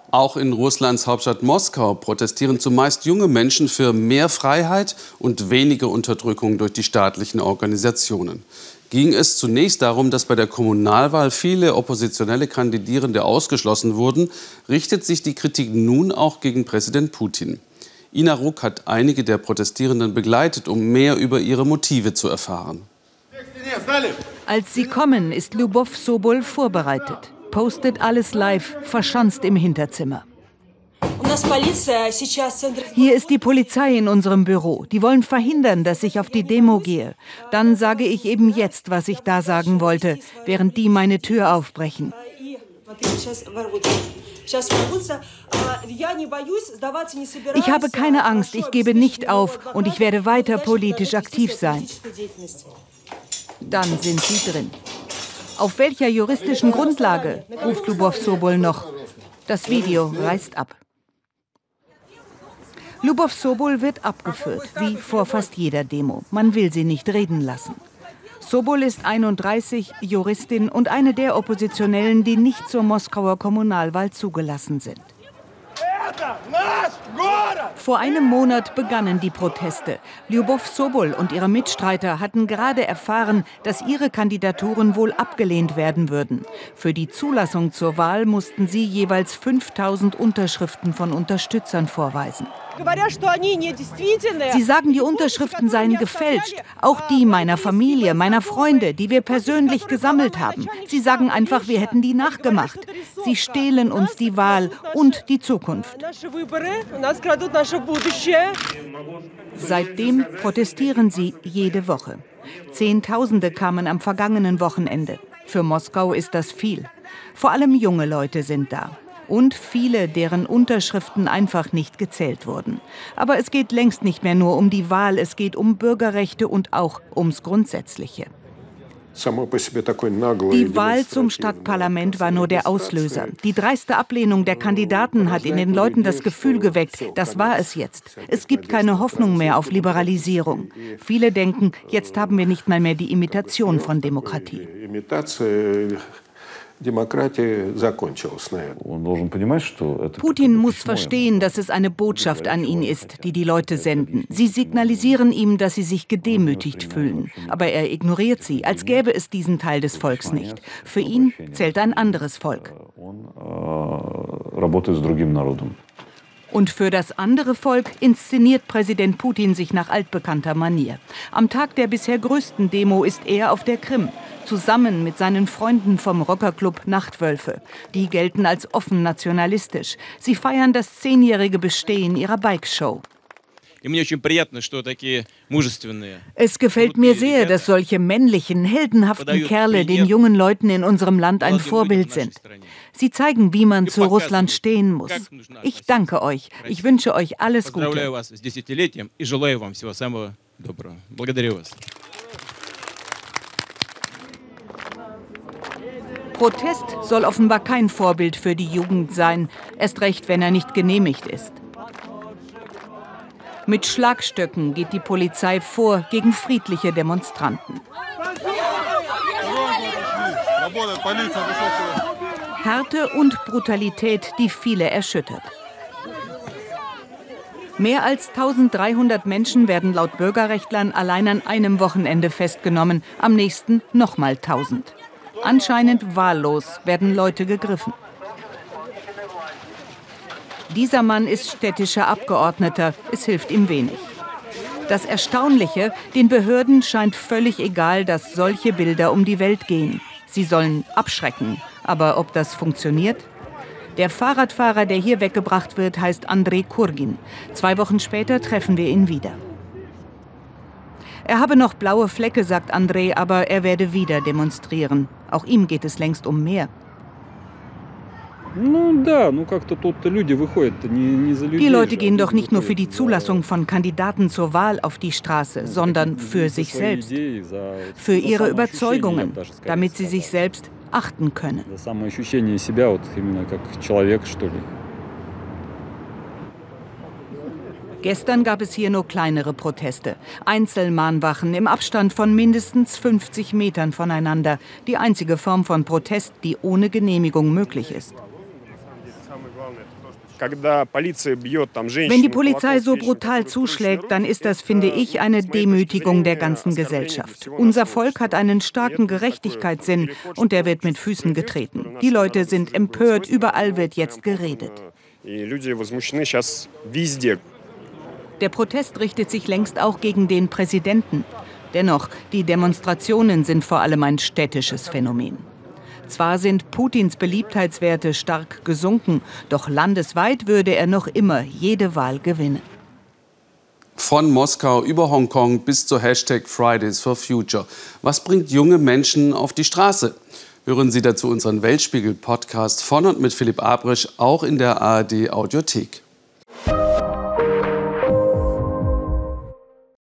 Auch in Russlands Hauptstadt Moskau protestieren zumeist junge Menschen für mehr Freiheit und weniger Unterdrückung durch die staatlichen Organisationen. Ging es zunächst darum, dass bei der Kommunalwahl viele oppositionelle Kandidierende ausgeschlossen wurden, richtet sich die Kritik nun auch gegen Präsident Putin. Ina Ruck hat einige der Protestierenden begleitet, um mehr über ihre Motive zu erfahren. Als sie kommen, ist Lyubov Sobol vorbereitet. Postet alles live, verschanzt im Hinterzimmer. Hier ist die Polizei in unserem Büro. Die wollen verhindern, dass ich auf die Demo gehe. Dann sage ich eben jetzt, was ich da sagen wollte, während die meine Tür aufbrechen. Ich habe keine Angst, ich gebe nicht auf und ich werde weiter politisch aktiv sein. Dann sind sie drin. Auf welcher juristischen Grundlage, ruft Lyubov Sobol noch. Das Video reißt ab. Lyubov Sobol wird abgeführt, wie vor fast jeder Demo. Man will sie nicht reden lassen. Sobol ist 31, Juristin und eine der Oppositionellen, die nicht zur Moskauer Kommunalwahl zugelassen sind. Vor einem Monat begannen die Proteste. Lyubov Sobol und ihre Mitstreiter hatten gerade erfahren, dass ihre Kandidaturen wohl abgelehnt werden würden. Für die Zulassung zur Wahl mussten sie jeweils 5000 Unterschriften von Unterstützern vorweisen. Sie sagen, die Unterschriften seien gefälscht. Auch die meiner Familie, meiner Freunde, die wir persönlich gesammelt haben. Sie sagen einfach, wir hätten die nachgemacht. Sie stehlen uns die Wahl und die Zukunft. Seitdem protestieren sie jede Woche. Zehntausende kamen am vergangenen Wochenende. Für Moskau ist das viel. Vor allem junge Leute sind da. Und viele, deren Unterschriften einfach nicht gezählt wurden. Aber es geht längst nicht mehr nur um die Wahl, es geht um Bürgerrechte und auch ums Grundsätzliche. Die Wahl zum Stadtparlament war nur der Auslöser. Die dreiste Ablehnung der Kandidaten hat in den Leuten das Gefühl geweckt, das war es jetzt. Es gibt keine Hoffnung mehr auf Liberalisierung. Viele denken, jetzt haben wir nicht mal mehr die Imitation von Demokratie. Putin muss verstehen, dass es eine Botschaft an ihn ist, die die Leute senden. Sie signalisieren ihm, dass sie sich gedemütigt fühlen. Aber er ignoriert sie, als gäbe es diesen Teil des Volks nicht. Für ihn zählt ein anderes Volk. Und für das andere Volk inszeniert Präsident Putin sich nach altbekannter Manier. Am Tag der bisher größten Demo ist er auf der Krim, zusammen mit seinen Freunden vom Rockerclub Nachtwölfe. Die gelten als offen nationalistisch. Sie feiern das 10-jährige Bestehen ihrer Bikeshow. Es gefällt mir sehr, dass solche männlichen, heldenhaften Kerle den jungen Leuten in unserem Land ein Vorbild sind. Sie zeigen, wie man zu Russland stehen muss. Ich danke euch. Ich wünsche euch alles Gute. Protest soll offenbar kein Vorbild für die Jugend sein, erst recht, wenn er nicht genehmigt ist. Mit Schlagstöcken geht die Polizei vor gegen friedliche Demonstranten. Härte und Brutalität, die viele erschüttert. Mehr als 1300 Menschen werden laut Bürgerrechtlern allein an einem Wochenende festgenommen, am nächsten nochmal 1000. Anscheinend wahllos werden Leute gegriffen. Dieser Mann ist städtischer Abgeordneter, es hilft ihm wenig. Das Erstaunliche, den Behörden scheint völlig egal, dass solche Bilder um die Welt gehen. Sie sollen abschrecken, aber ob das funktioniert? Der Fahrradfahrer, der hier weggebracht wird, heißt Andrei Kurgin. 2 Wochen später treffen wir ihn wieder. Er habe noch blaue Flecke, sagt Andrei, aber er werde wieder demonstrieren. Auch ihm geht es längst um mehr. Die Leute gehen doch nicht nur für die Zulassung von Kandidaten zur Wahl auf die Straße, sondern für sich selbst, für ihre Überzeugungen, damit sie sich selbst achten können. Gestern gab es hier nur kleinere Proteste. Einzelmahnwachen im Abstand von mindestens 50 Metern voneinander. Die einzige Form von Protest, die ohne Genehmigung möglich ist. Wenn die Polizei so brutal zuschlägt, dann ist das, finde ich, eine Demütigung der ganzen Gesellschaft. Unser Volk hat einen starken Gerechtigkeitssinn und der wird mit Füßen getreten. Die Leute sind empört, überall wird jetzt geredet. Der Protest richtet sich längst auch gegen den Präsidenten. Dennoch, die Demonstrationen sind vor allem ein städtisches Phänomen. Zwar sind Putins Beliebtheitswerte stark gesunken, doch landesweit würde er noch immer jede Wahl gewinnen. Von Moskau über Hongkong bis zur Hashtag Fridays for Future. Was bringt junge Menschen auf die Straße? Hören Sie dazu unseren Weltspiegel-Podcast von und mit Philipp Abrisch, auch in der ARD-Audiothek.